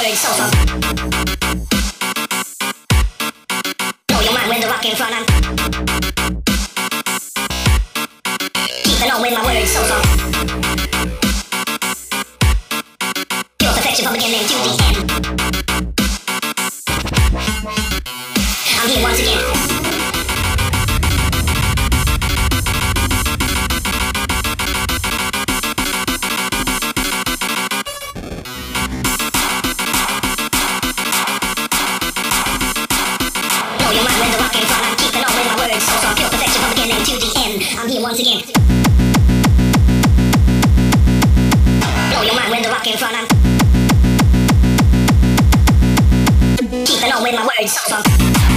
words so strong. Blow your mind with the rock in front. I'm keeping on with my words so strong. Pure perfection from beginning to the end. I'm here once again. Once again, blow your mind with the rock in front. I'm keeping on with my words so strong.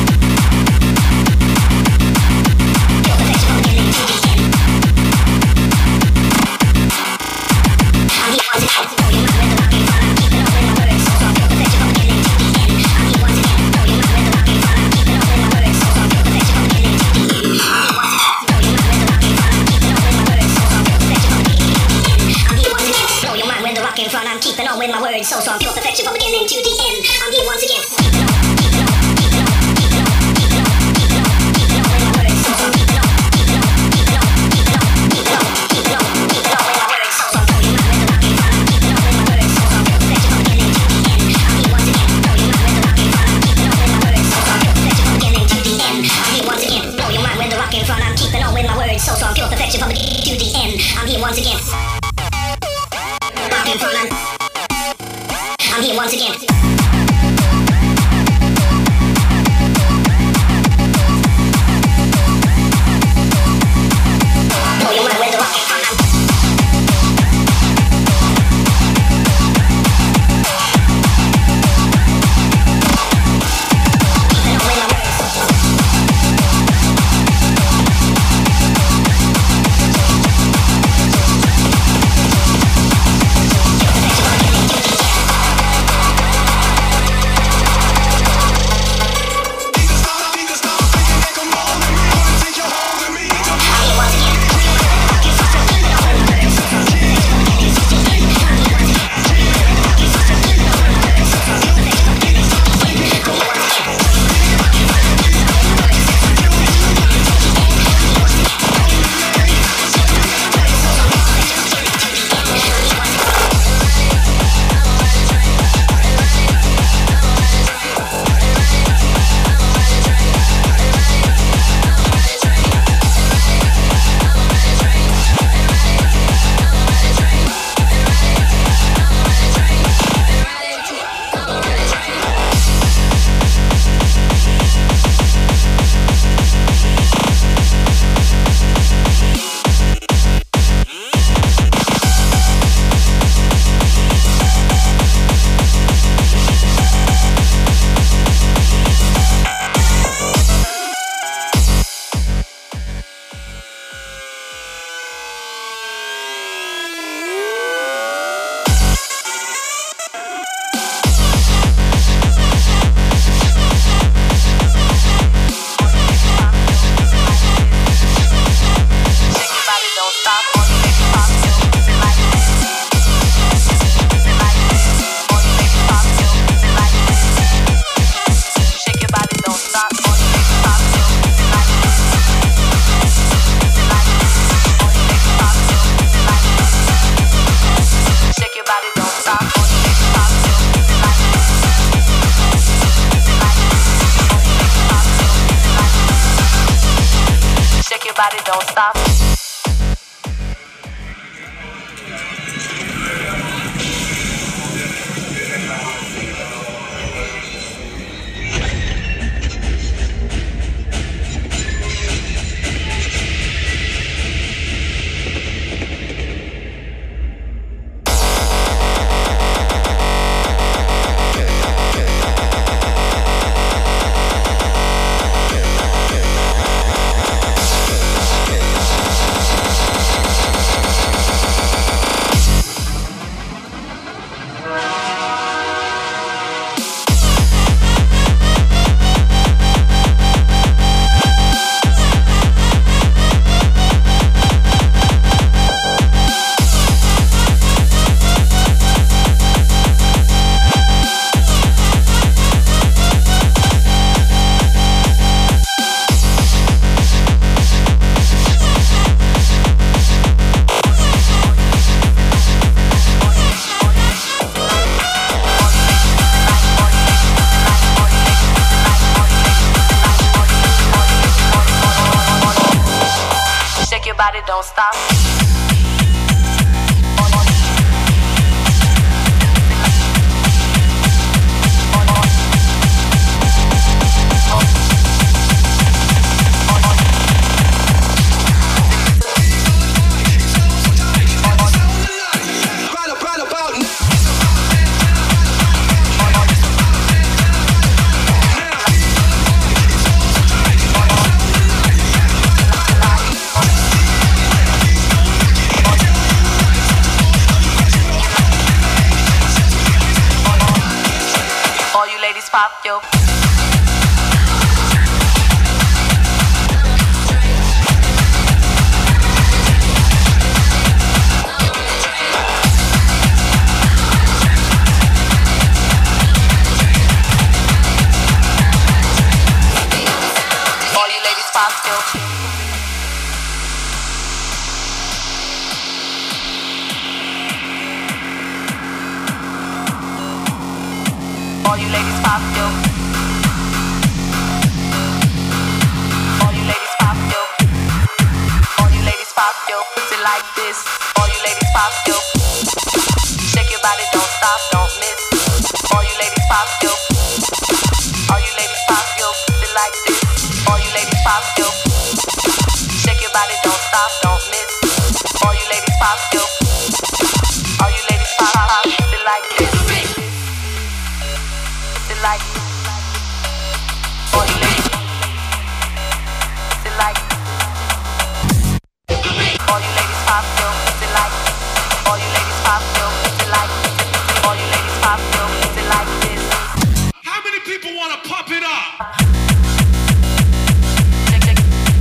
Pure perfection from beginning to the end. I'm here once again. Blow your mind with the rock in front. I'm keeping on with my words so strong. Pure perfection from beginning to the end. I'm here once again. Blow your mind with the rock in front. I'm keeping on with my words so strong. Pure perfection from beginning to the end. I'm here once again. In front, I'm keeping on with my words so strong, pure perfection from beginning to the end. I'm here once again. Keeping on, keeping on, keeping on, keeping on, keeping on, keeping on, keeping on with my words so strong. Keeping on, keeping on, keeping on, keeping on, keeping on, keeping on, keeping on with my words so strong. Blow your mind with the rock in front. I'm keeping on with my words so strong, pure perfection from beginning to the end. I'm here once again. Blow your mind with the rock in front. I'm keeping on with my words so strong, pure perfection from beginning to the end. I'm here once again. Blow your mind with the rock in front. I'm keeping on with my words so strong, pure perfection from beginning to the end. I'm here once again. In front, I'm here once again. Blow your mind with the rock in front. Keeping on with my words. Don't stop. don't stop. Pop yo. All you ladies pop yo. All you ladies pop yo. All you ladies pop yo. All you ladies pop yo. Put it like this. All you ladies pop yo. Shake your body, don't stop, don't miss. All you ladies pop yo. All you ladies pop yo. Put it like this. All you ladies pop yo. Shake your body, don't stop, don't miss. All you ladies pop yo. All you ladies pop, pop, put it like this. Like all you ladies, like all you ladies pop yo, like all you ladies pop yo, like all you ladies pop yo, like this. How many people want to pop it up? Shake, shake,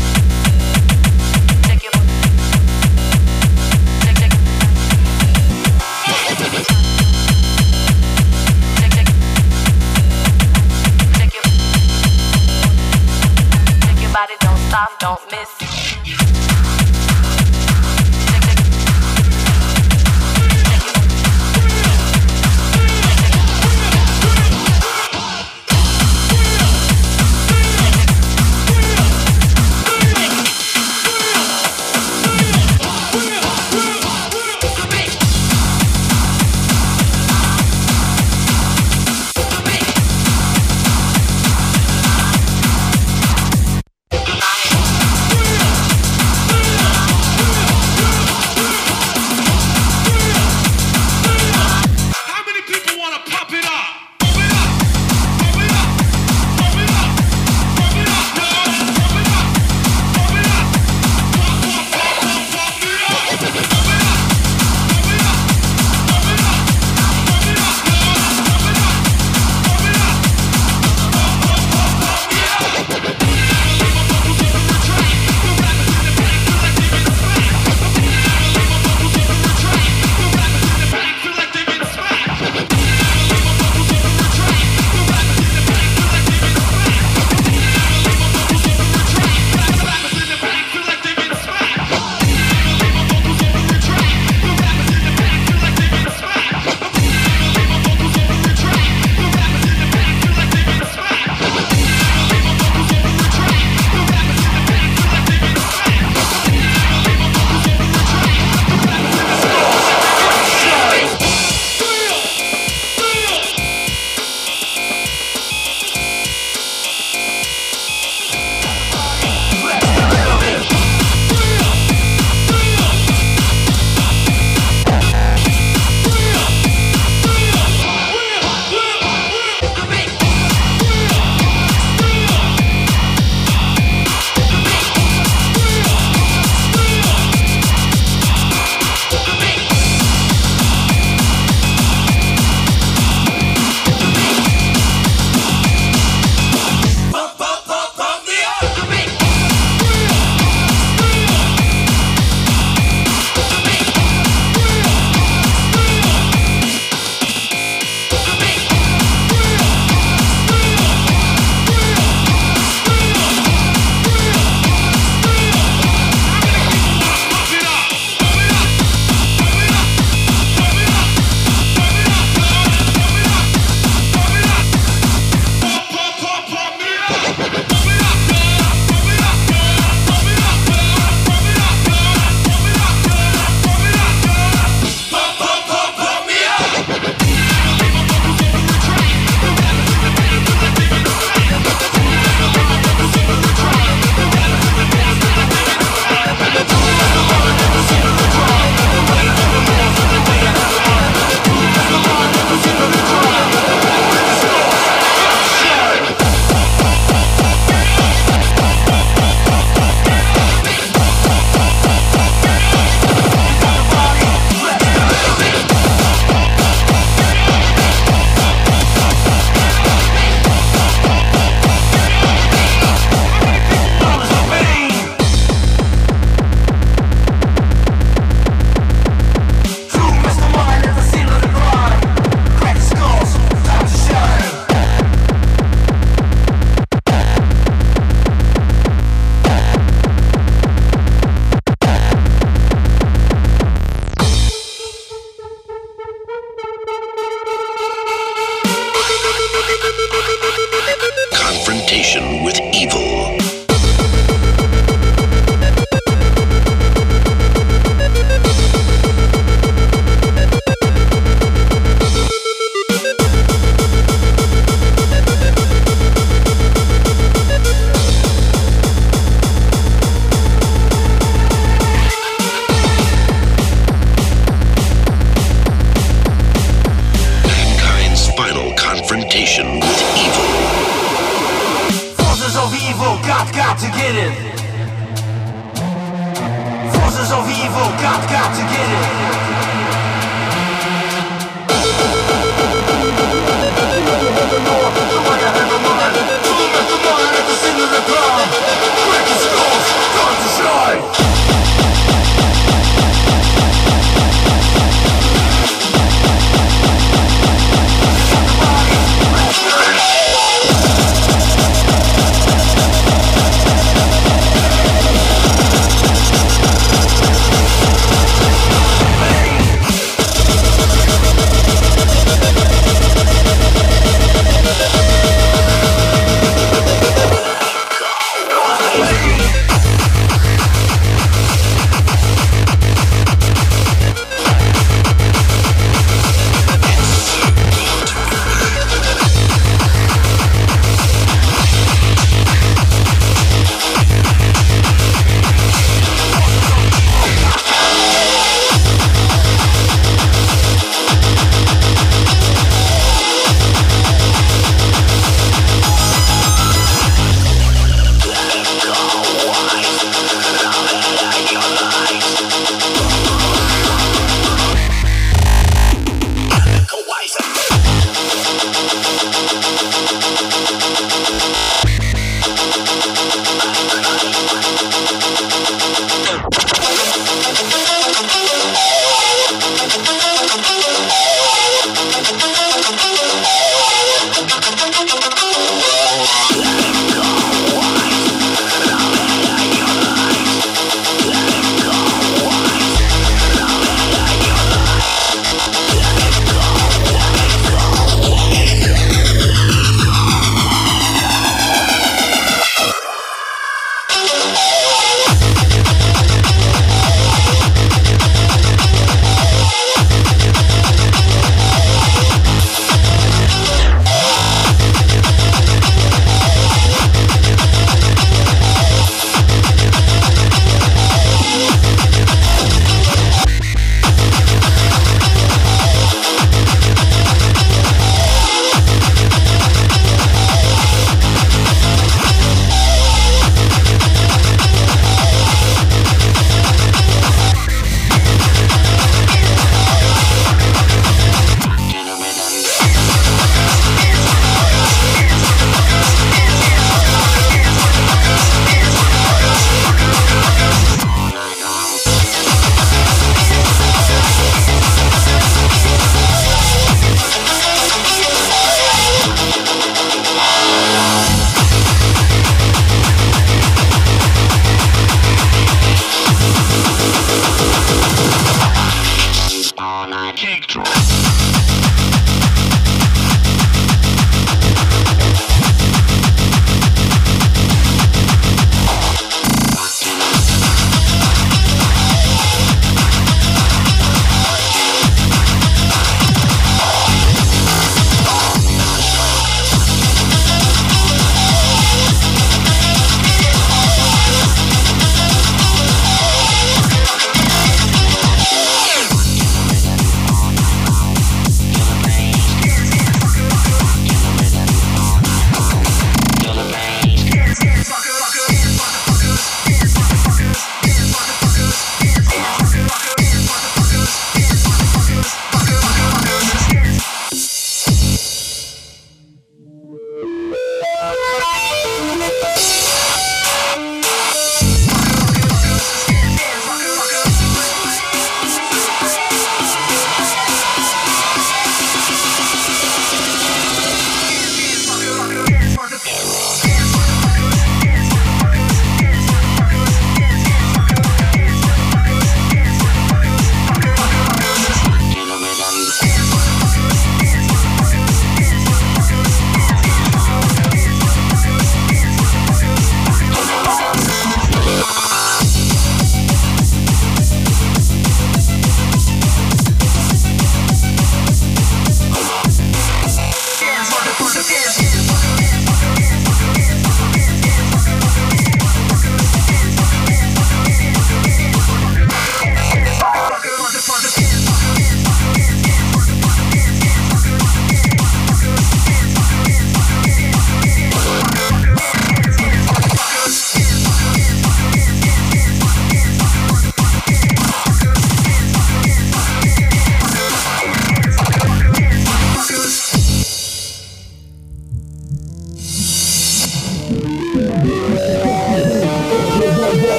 got to get it.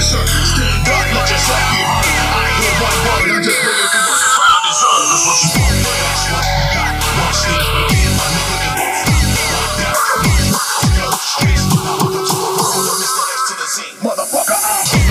sir. Stand up, let yourself be heard. I hear one word, I just bring it through what the crowd deserves. That's what you want, that's what you got. One step again, my nigga, and won't stop. Streets, I hook up to a roll, Mr. X to the Z. Motherfucker,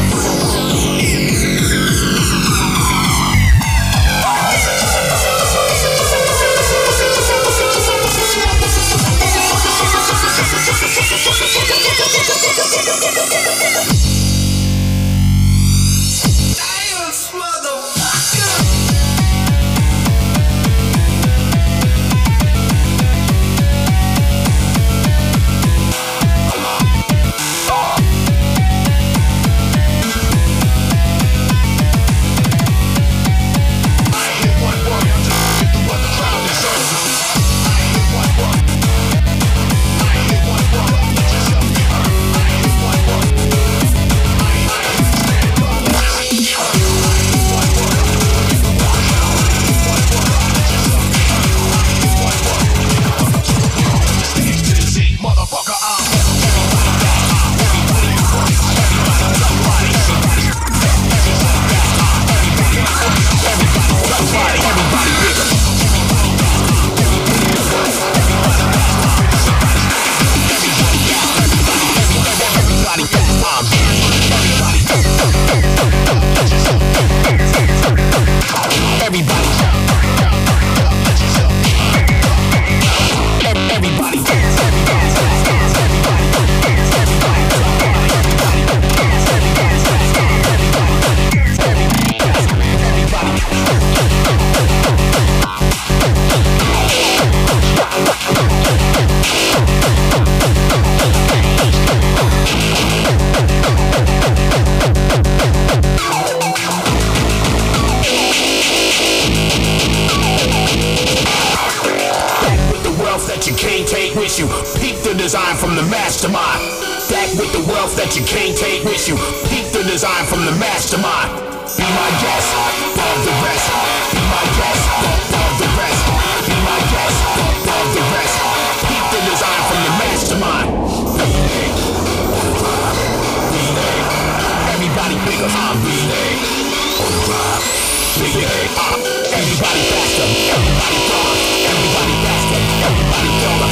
you. Peep the design from the mastermind. Back with the wealth that you can't take with you. Peep the design from the mastermind. Be my guest, above the rest. Be my guest, above the rest. Be my guest, above the rest. Peep the design from the mastermind. Everybody bigger, I'm B-Day. On the drive, B-Day. Everybody faster, everybody taller. Everybody faster, everybody taller.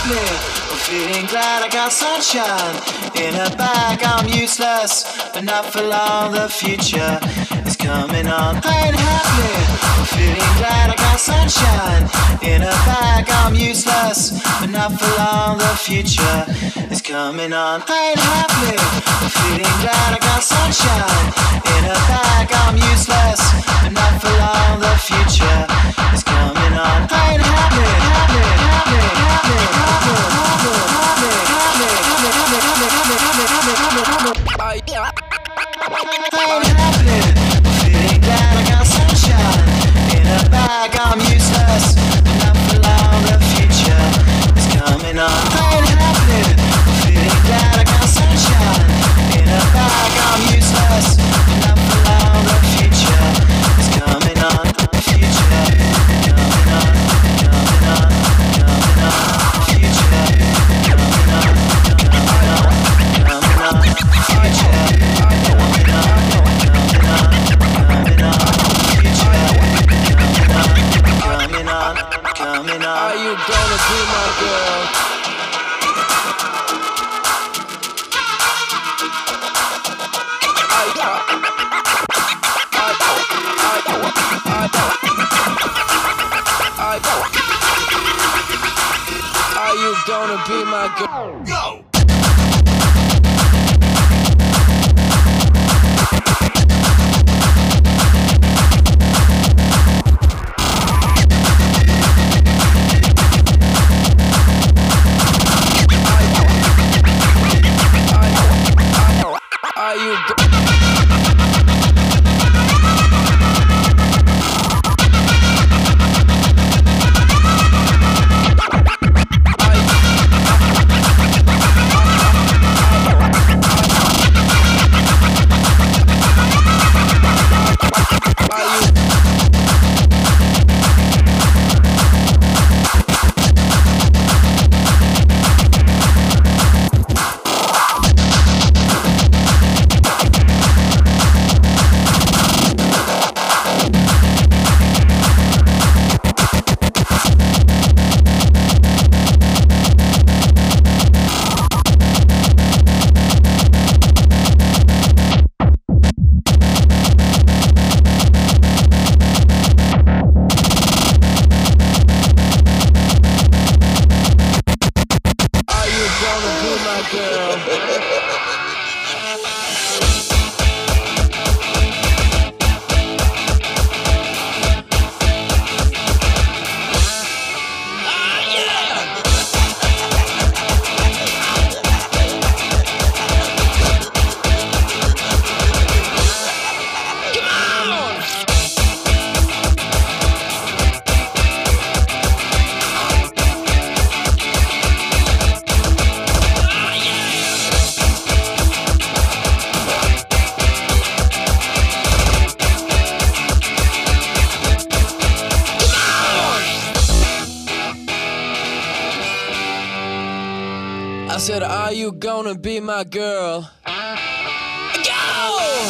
happy. I'm feeling glad I got sunshine in a bag. I'm useless, but not for long. The future is coming on. I ain't happy. I'm feeling glad I got sunshine in a bag. I'm useless, but not for long. The future is coming on. I ain't happy. I'm feeling glad I got sunshine in a bag. I'm useless, but not for long. The future is coming on. I ain't happy, happy, happy, happy, happy, happy, I'm happy, feeling glad I got sunshine in a bag. I'm useless, but not for long. The future is coming on. I'm happy, feeling glad I got sunshine in a bag. I'm useless, but not for long. The future is coming on. The future coming on, coming on, coming on. The future coming on, coming on, coming on. The future coming on, coming on, coming on. The future coming on, coming on. Are you gonna be my girl? Are you gonna be my girl? Go! Are you I said, are you gonna be my girl? Go!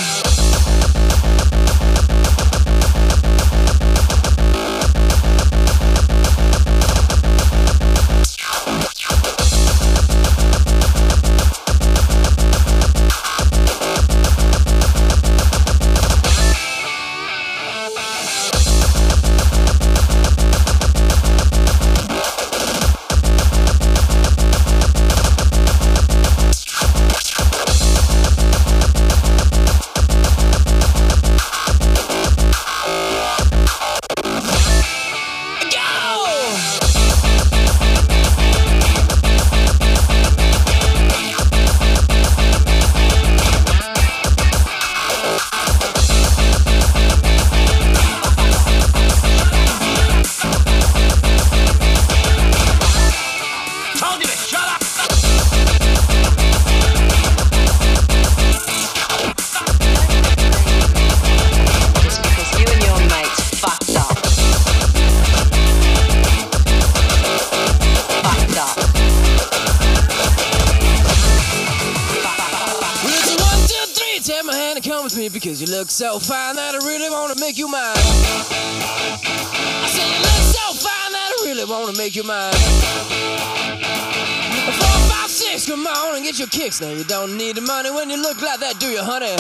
Because you look so fine that I really wanna make you mine. I say you look so fine that I really wanna make you mine. Boys, come on and get your kicks. Now you don't need the money when you look like that, do you, honey?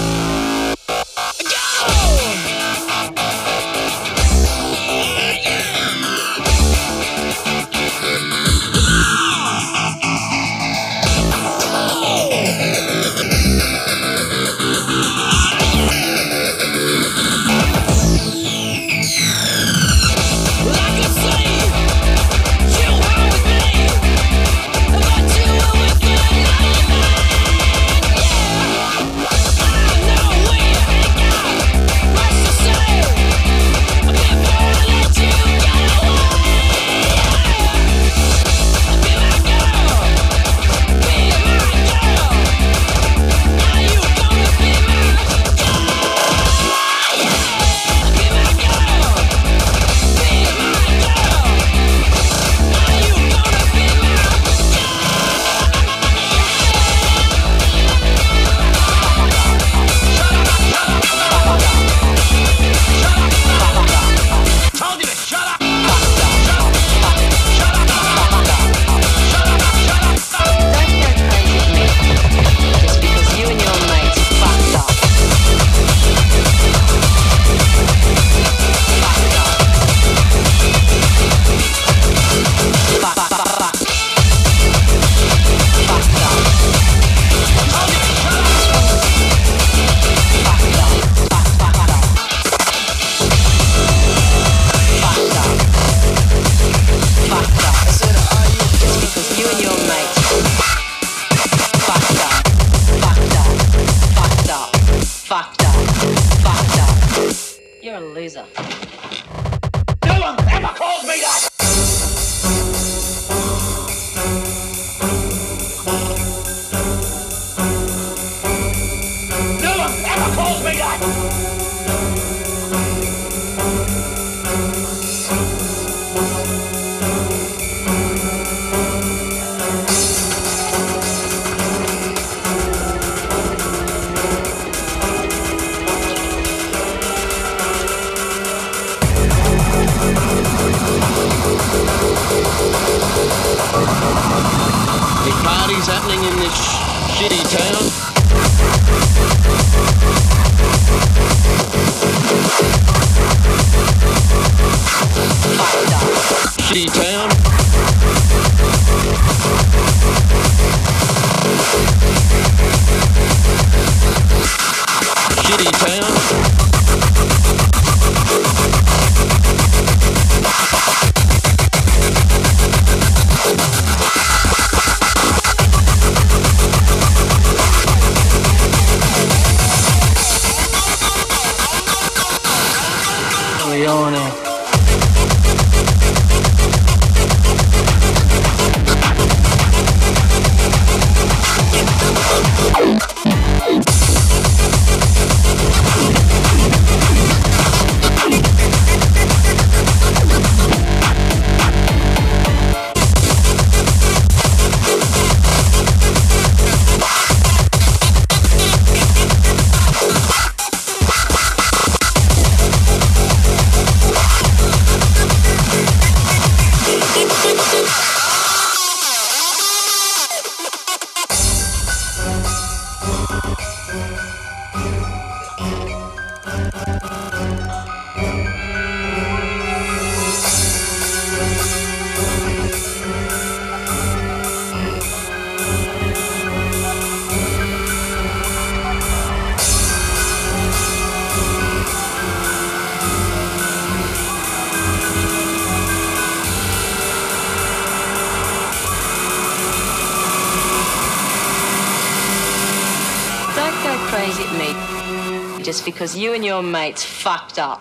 Just because you and your mates fucked up.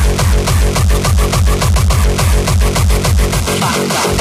Fucked up.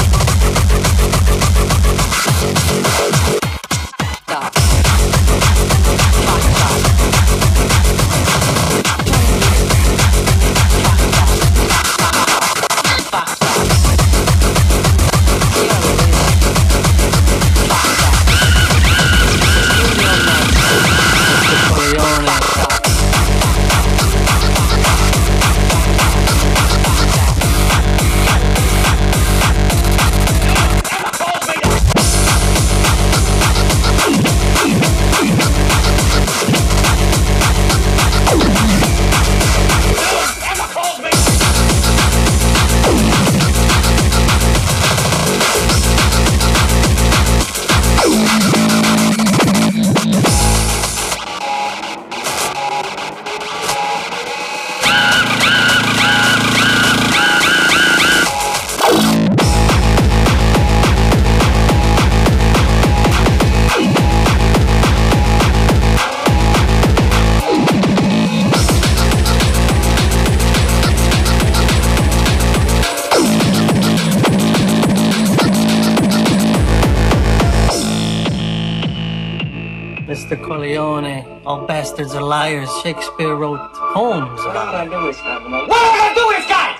Mr. Corleone, all bastards are liars. Shakespeare wrote poems about it. What am I gonna do with guys?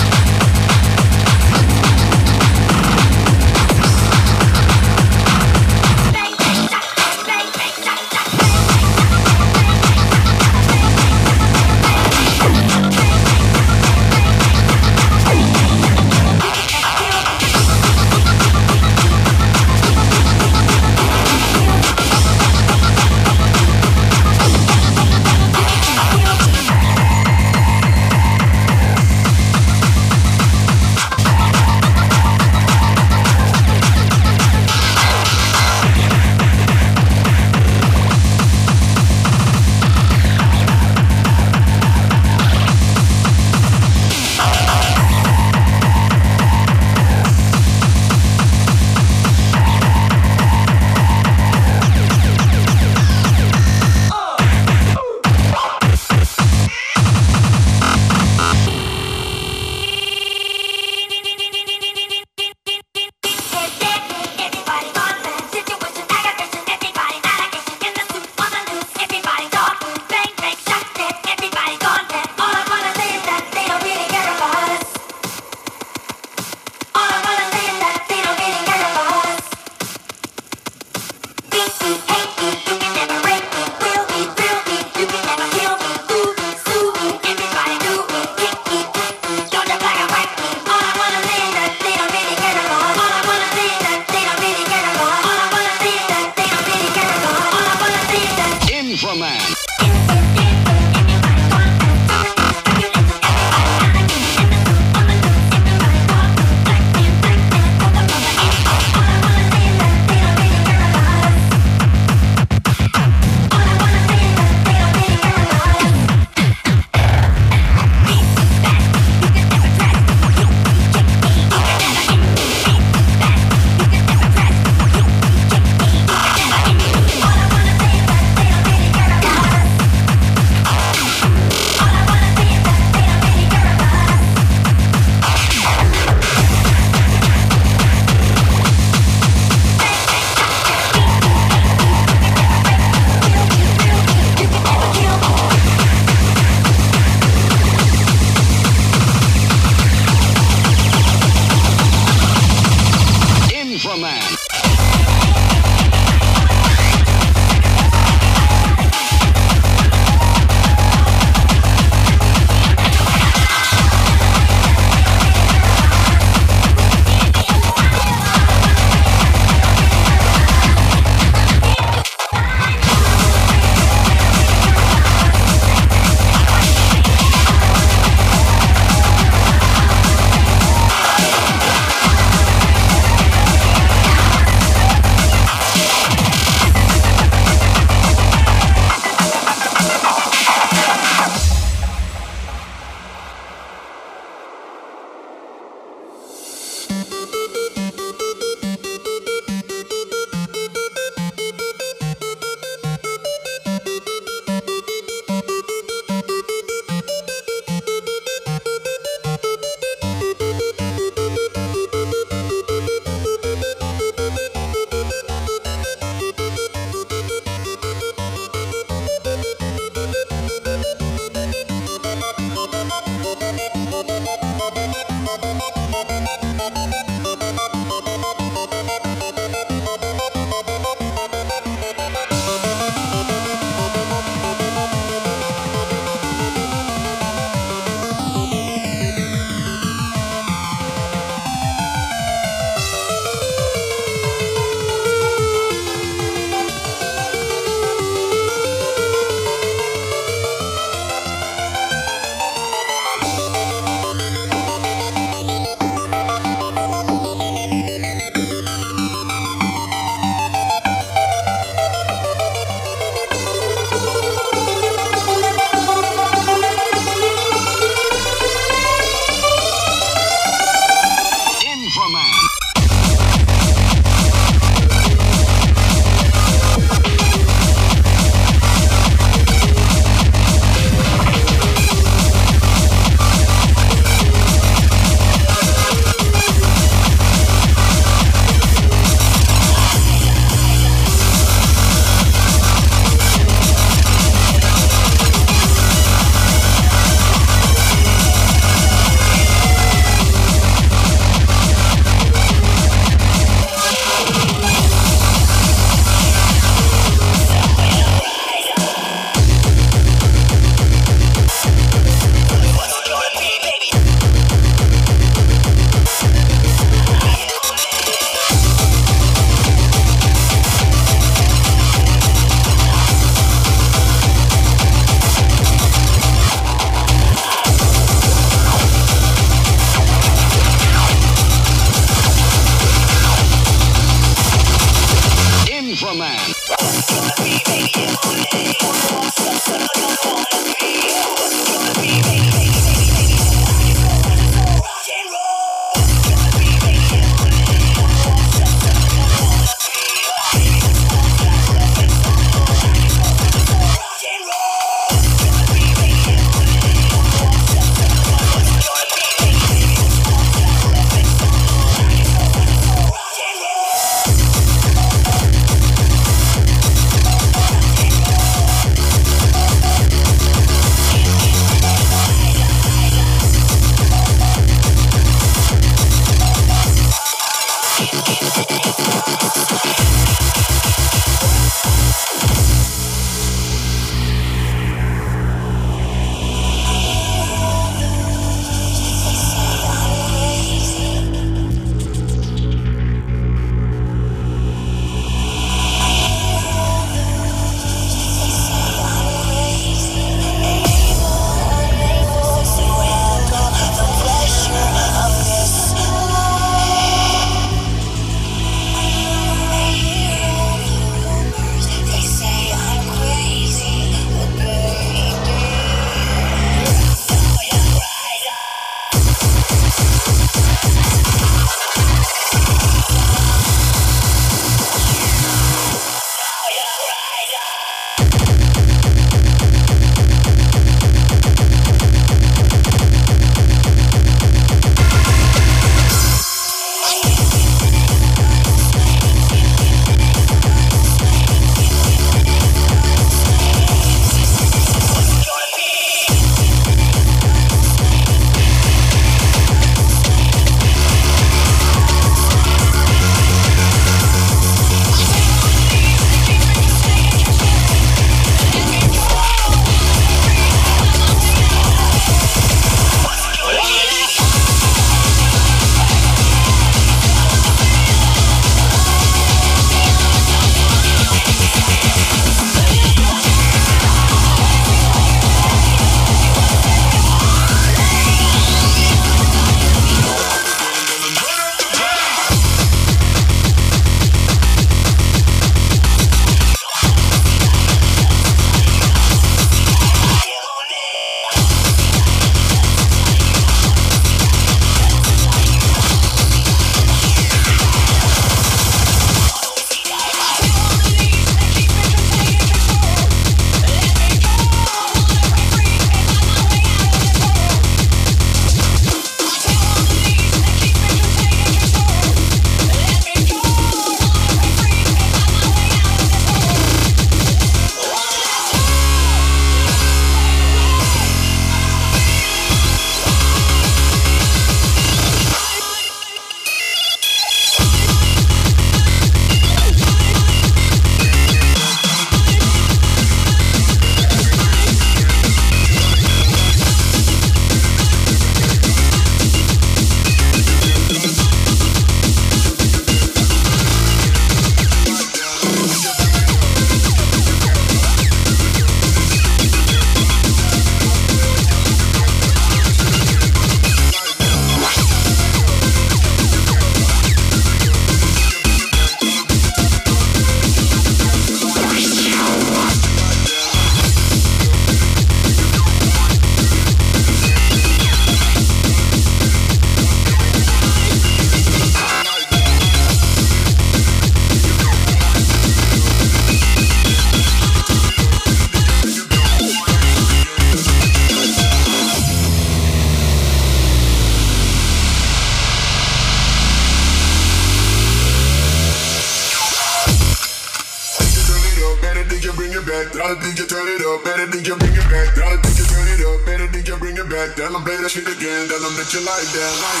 Dollar think you turn it up, better think you bring it back. Dollar think you turn it up, better think you bring it back. Tell them play that shit again, tell them that you like that. Like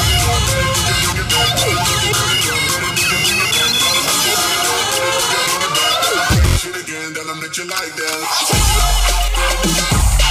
shit again, tell them that you like that.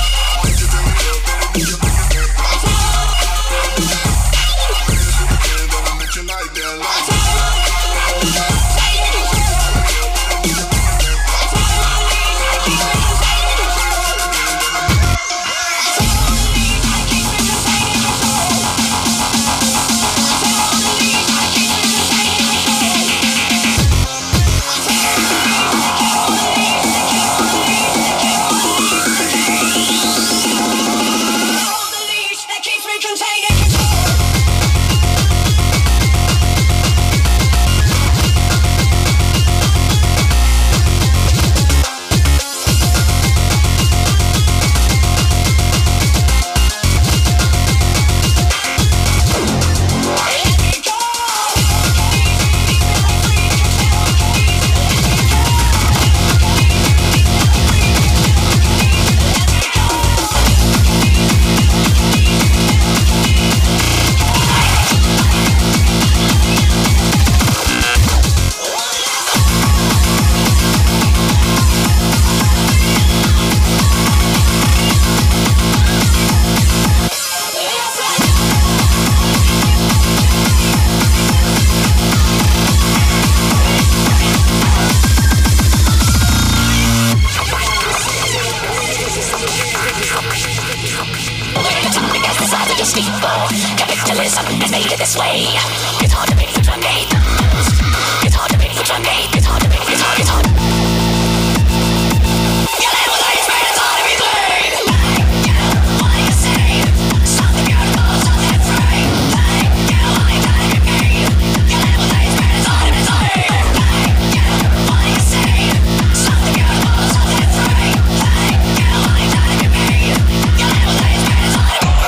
Capitalism has made it this way. It's hard to make food one day. It's hard to make food one day. It's hard to make, it's hard. You live with ladies, man, it's hard to be clean. You, what do you say? Something beautiful, something free. You, all you gotta be me. You live with ladies, man, it's hard to be clean. You, what do you say? Something beautiful, something free. You, all you gotta be me. You live with ladies, man, it's hard to be clean.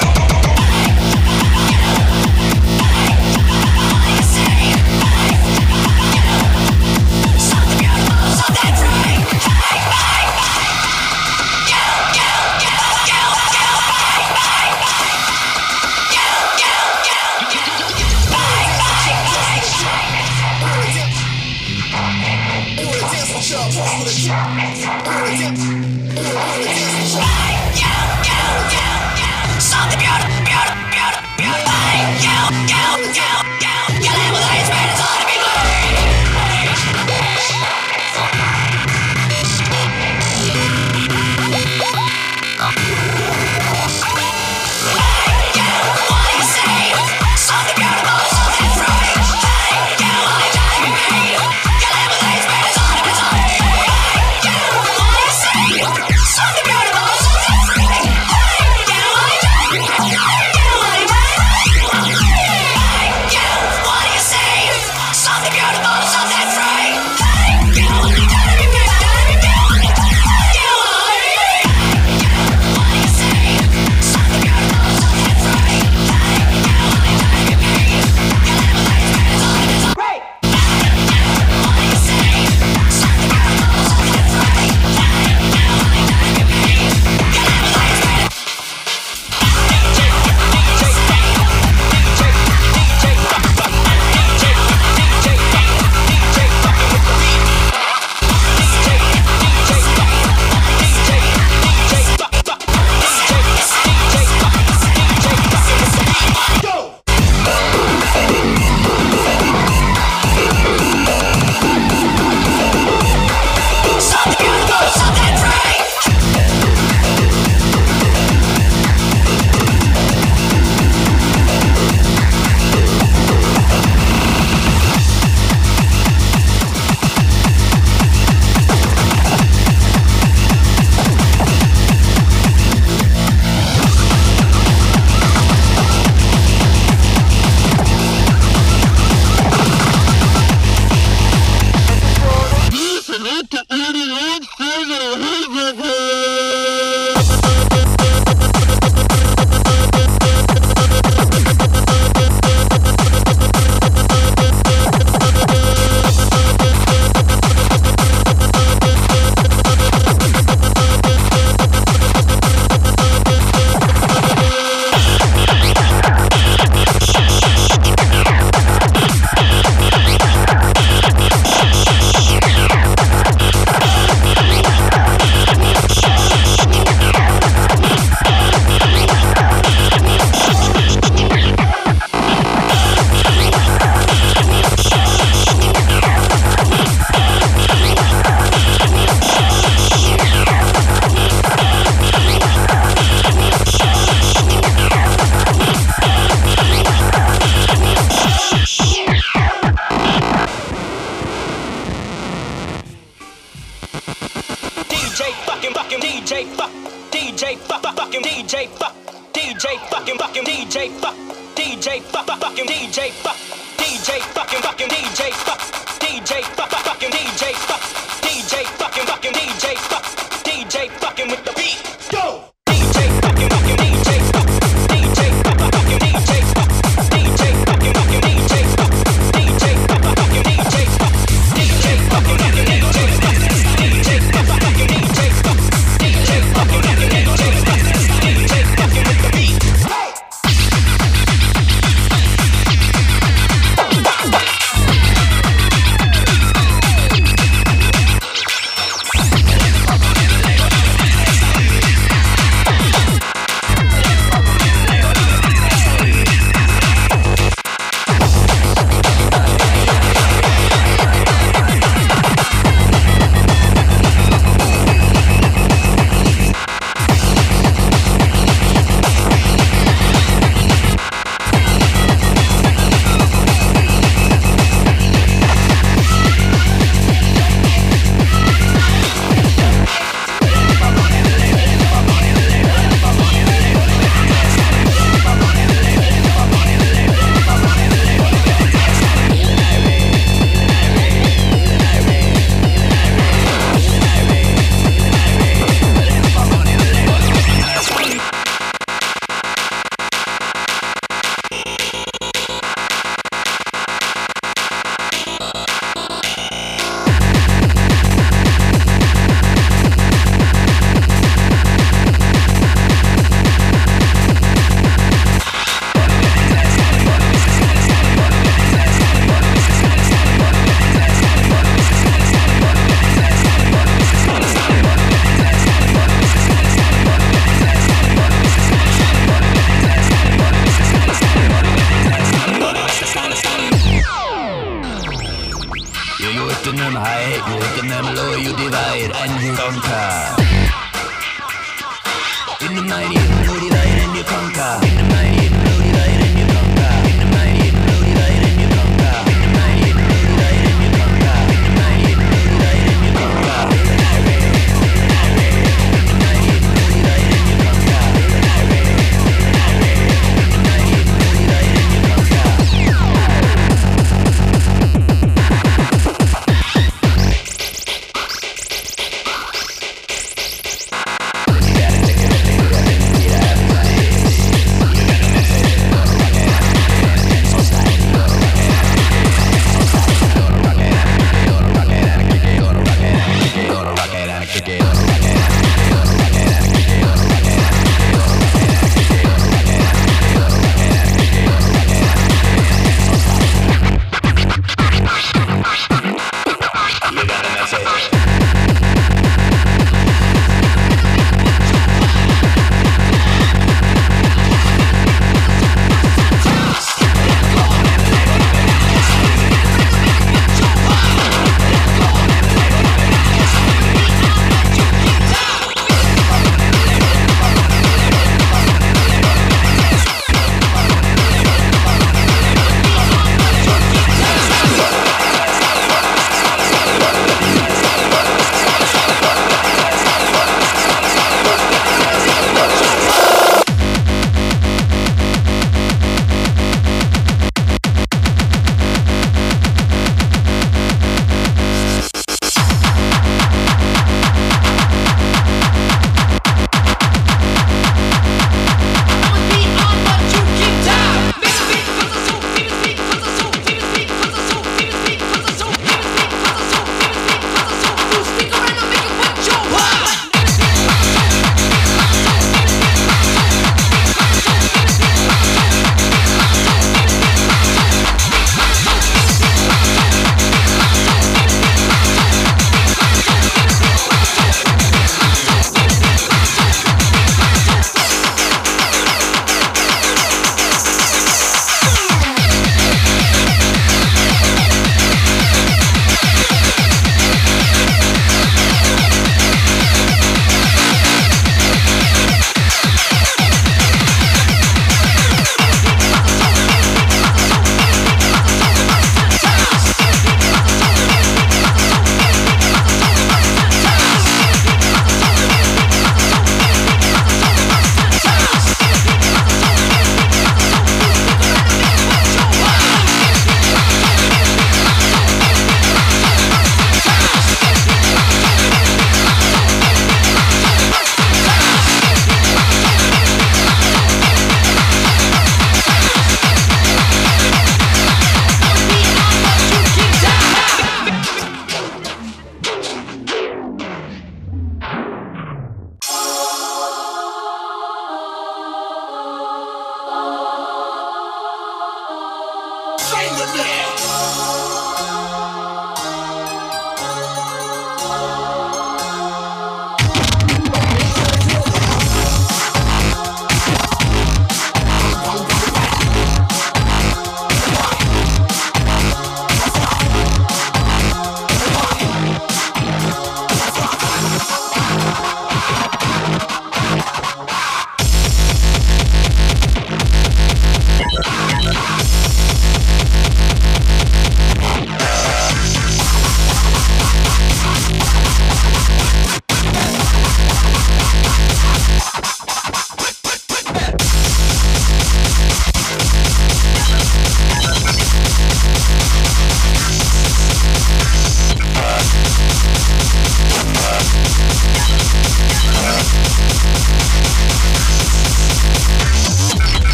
fucking DJ fuck DJ fucking DJ fuck DJ fucking DJ fuck DJ fucking DJ fuck DJ fucking DJ fuck DJ fucking DJ